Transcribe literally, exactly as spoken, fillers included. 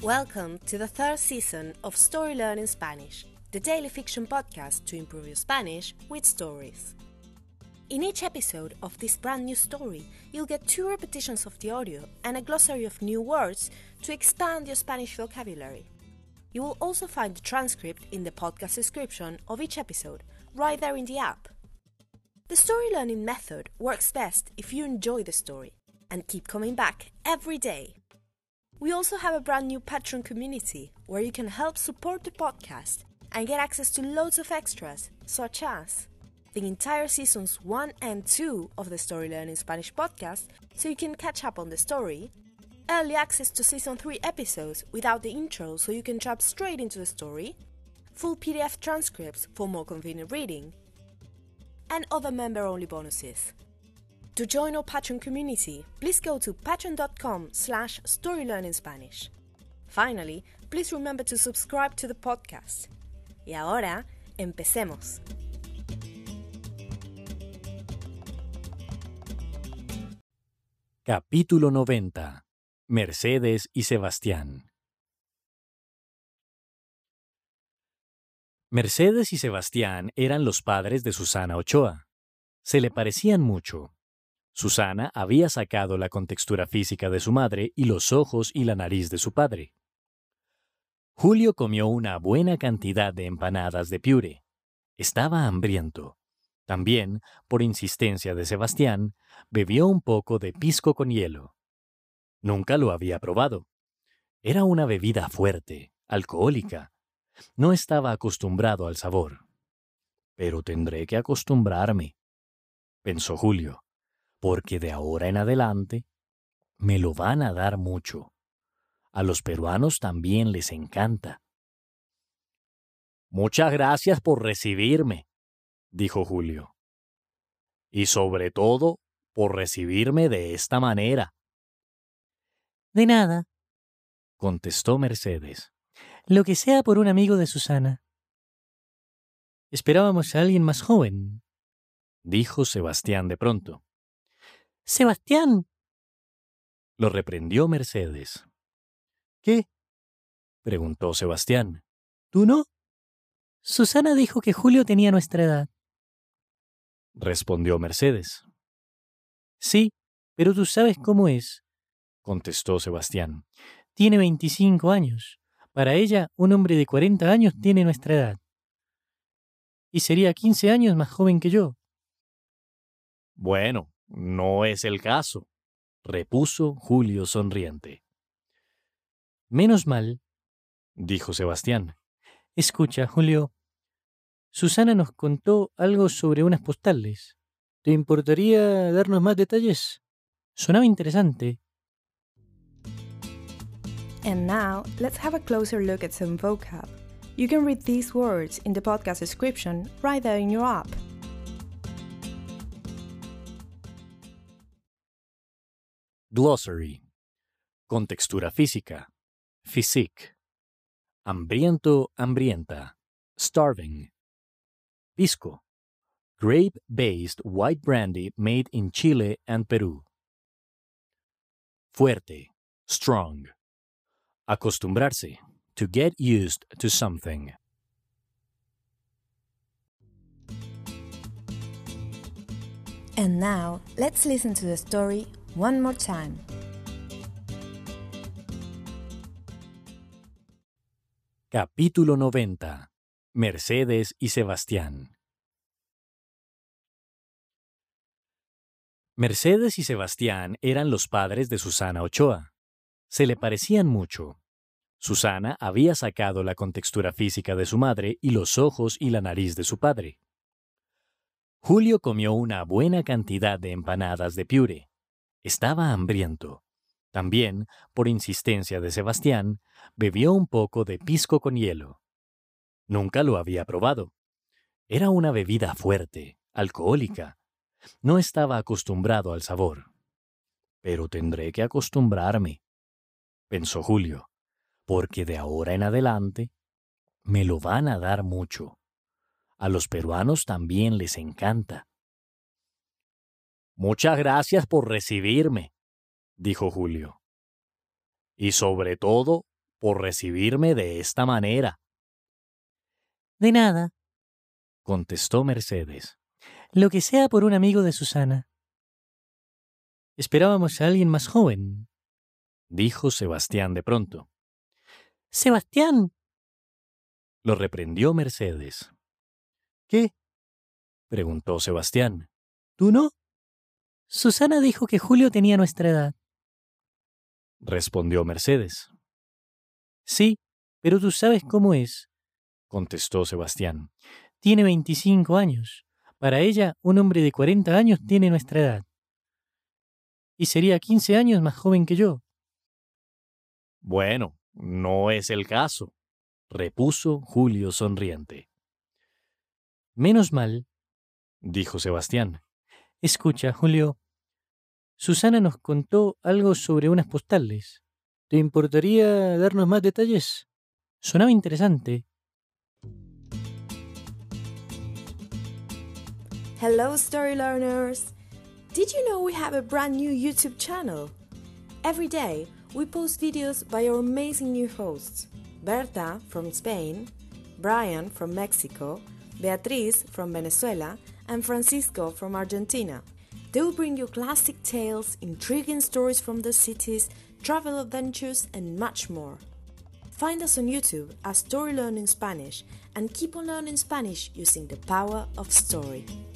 Welcome to the third season of Story Learning Spanish, the daily fiction podcast to improve your Spanish with stories. In each episode of this brand new story, you'll get two repetitions of the audio and a glossary of new words to expand your Spanish vocabulary. You will also find the transcript in the podcast description of each episode, right there in the app. The story learning method works best if you enjoy the story and keep coming back every day. We also have a brand new Patreon community where you can help support the podcast and get access to loads of extras, such as the entire seasons one and two of the Story Learning Spanish podcast, so you can catch up on the story, early access to season three episodes without the intro so you can jump straight into the story, full P D F transcripts for more convenient reading, and other member-only bonuses. To join our Patreon community, please go to patreon.com slash storylearningspanish. Finally, please remember to subscribe to the podcast. Y ahora, empecemos. Capítulo noventa. Mercedes y Sebastián. Mercedes y Sebastián eran los padres de Susana Ochoa. Se le parecían mucho. Susana había sacado la contextura física de su madre y los ojos y la nariz de su padre. Julio comió una buena cantidad de empanadas de piure. Estaba hambriento. También, por insistencia de Sebastián, bebió un poco de pisco con hielo. Nunca lo había probado. Era una bebida fuerte, alcohólica. No estaba acostumbrado al sabor. Pero tendré que acostumbrarme, pensó Julio. Porque de ahora en adelante me lo van a dar mucho. A los peruanos también les encanta. Muchas gracias por recibirme, dijo Julio. Y sobre todo, por recibirme de esta manera. De nada, contestó Mercedes. Lo que sea por un amigo de Susana. Esperábamos a alguien más joven, dijo Sebastián de pronto. ¡Sebastián! Lo reprendió Mercedes. ¿Qué? Preguntó Sebastián. ¿Tú no? Susana dijo que Julio tenía nuestra edad. Respondió Mercedes. Sí, pero tú sabes cómo es, contestó Sebastián. Tiene veinticinco años. Para ella, un hombre de cuarenta años tiene nuestra edad. Y sería quince años más joven que yo. Bueno, no es el caso, repuso Julio sonriente. Menos mal, dijo Sebastián. Escucha, Julio, Susana nos contó algo sobre unas postales. ¿Te importaría darnos más detalles? Sonaba interesante. And now, let's have a closer look at some vocab. You can read these words in the podcast description right there in your app. Glossary. Contextura física. Physique. Hambriento, hambrienta. Starving. Pisco. Grape-based white brandy made in Chile and Peru. Fuerte. Strong. Acostumbrarse. To get used to something. And now, let's listen to the story one more time. Capítulo noventa. Mercedes y Sebastián. Mercedes y Sebastián eran los padres de Susana Ochoa. Se le parecían mucho. Susana había sacado la contextura física de su madre y los ojos y la nariz de su padre. Julio comió una buena cantidad de empanadas de piure. Estaba hambriento. También, por insistencia de Sebastián, bebió un poco de pisco con hielo. Nunca lo había probado. Era una bebida fuerte, alcohólica. No estaba acostumbrado al sabor. Pero tendré que acostumbrarme, pensó Julio, porque de ahora en adelante me lo van a dar mucho. A los peruanos también les encanta. Muchas gracias por recibirme, dijo Julio. Y sobre todo, por recibirme de esta manera. De nada, contestó Mercedes. lo que sea por un amigo de Susana. Esperábamos a alguien más joven, dijo Sebastián de pronto. ¡Sebastián! Lo reprendió Mercedes. ¿Qué? Preguntó Sebastián. ¿Tú no? Susana dijo que Julio tenía nuestra edad. Respondió Mercedes. Sí, pero tú sabes cómo es, contestó Sebastián. Tiene veinticinco años. Para ella, un hombre de cuarenta años tiene nuestra edad. Y sería quince años más joven que yo. Bueno, no es el caso, repuso Julio sonriente. Menos mal, dijo Sebastián. Escucha, Julio. Susana nos contó algo sobre unas postales. ¿Te importaría darnos más detalles? Sonaba interesante. Hello, story learners! Did you know we have a brand new YouTube channel? Every day, we post videos by our amazing new hosts. Berta from Spain, Brian from Mexico, Beatriz from Venezuela, and Francisco from Argentina. They will bring you classic tales, intriguing stories from the cities, travel adventures, and much more. Find us on YouTube as Story Learning Spanish and keep on learning Spanish using the power of story.